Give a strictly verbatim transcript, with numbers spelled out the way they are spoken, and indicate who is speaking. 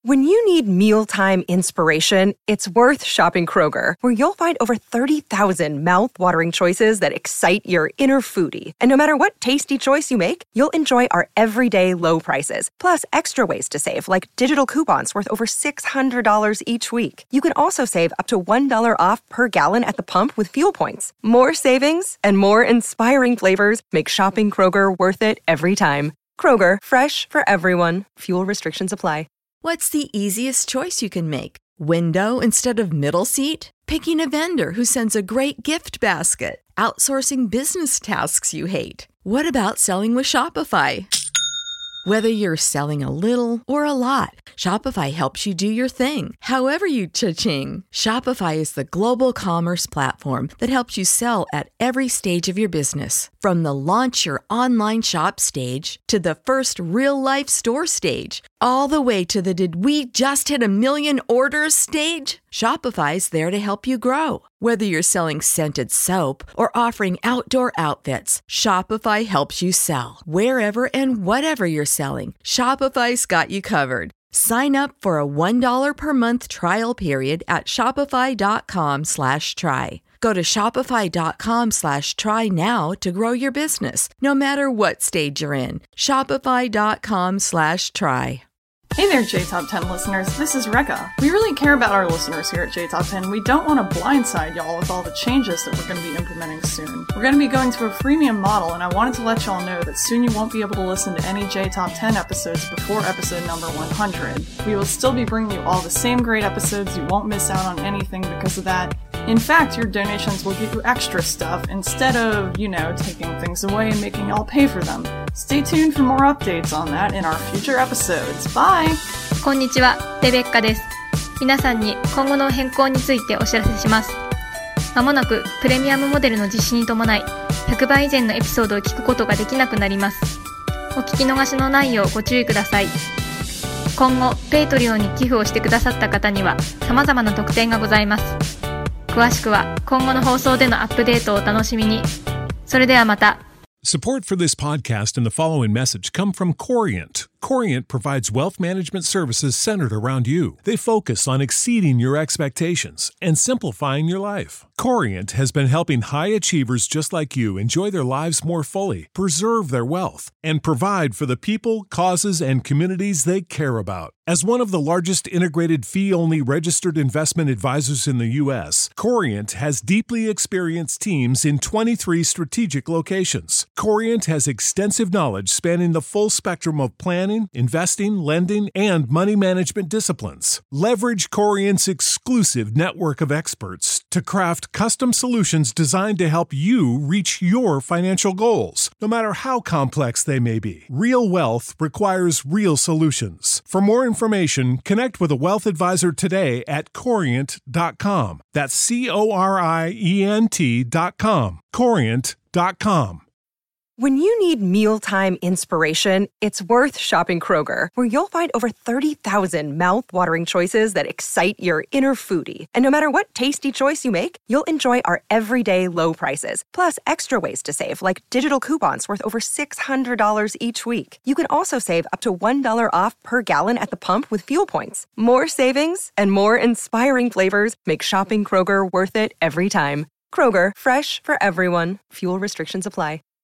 Speaker 1: When you need mealtime inspiration, it's worth shopping Kroger, where you'll find over thirty thousand mouth-watering choices that excite your inner foodie. And no matter what tasty choice you make, you'll enjoy our everyday low prices, plus extra ways to save, like digital coupons worth over six hundred dollars each week. You can also save up to one dollar off per gallon at the pump with fuel points. More savings and more inspiring flavors make shopping Kroger worth it every time. Kroger, fresh for everyone. Fuel restrictions apply.
Speaker 2: What's the easiest choice you can make? Window instead of middle seat? Picking a vendor who sends a great gift basket? Outsourcing business tasks you hate? What about selling with Shopify? Whether you're selling a little or a lot, Shopify helps you do your thing, however you cha-ching. Shopify is the global commerce platform that helps you sell at every stage of your business. From the launch your online shop stage to the first real-life store stage, all the way to the did we just hit a million orders stage. Shopify's there to help you grow. Whether you're selling scented soap or offering outdoor outfits, Shopify helps you sell. Wherever and whatever you're selling, Shopify's got you covered. Sign up for a one dollar per month trial period at shopify.com slash try. Go to shopify.com slash try now to grow your business, no matter what stage you're in. Shopify.com slash try.
Speaker 3: Hey there, J Top ten listeners. This is Rekka. We really care about our listeners here at J Top ten. We don't want to blindside y'all with all the changes that we're going to be implementing soon. We're going to be going to a freemium model, and I wanted to let y'all know that soon you won't be able to listen to any J Top ten episodes before episode number one hundred. We will still be bringing you all the same great episodes. You won't miss out on anything because of that. In fact, your donations will give you extra stuff instead of, you know, taking things away and making y'all pay for them. Stay tuned for more updates on that in our future episodes. Bye!
Speaker 4: こんにちは、レベッカです。皆さんに今後の変更についてお知らせします。まもなくプレミアムモデルの実施に伴い、ひゃくばい以前のエピソードを聞くことができなくなります。お聞き逃しのないようご注意ください。今後、ペイトリオンに寄付をしてくださった方には様々な特典がございます。詳しくは今後の放送でのアップデートをお楽しみに。それではまた。
Speaker 5: Support for this podcast and the following message come from Corient. Corient provides wealth management services centered around you. They focus on exceeding your expectations and simplifying your life. Corient has been helping high achievers just like you enjoy their lives more fully, preserve their wealth, and provide for the people, causes, and communities they care about. As one of the largest integrated fee-only registered investment advisors in the U S, Corient has deeply experienced teams in twenty-three strategic locations. Corient has extensive knowledge spanning the full spectrum of planning, investing, lending, and money management disciplines. Leverage Corient's exclusive network of experts to craft custom solutions designed to help you reach your financial goals, no matter how complex they may be. Real wealth requires real solutions. For more information, connect with a wealth advisor today at corient dot com. That's C O R I E N T dot com. corient dot com.
Speaker 1: When you need mealtime inspiration, it's worth shopping Kroger, where you'll find over thirty thousand mouth-watering choices that excite your inner foodie. And no matter what tasty choice you make, you'll enjoy our everyday low prices, plus extra ways to save, like digital coupons worth over six hundred dollars each week. You can also save up to one dollar off per gallon at the pump with fuel points. More savings and more inspiring flavors make shopping Kroger worth it every time. Kroger, fresh for everyone. Fuel restrictions apply.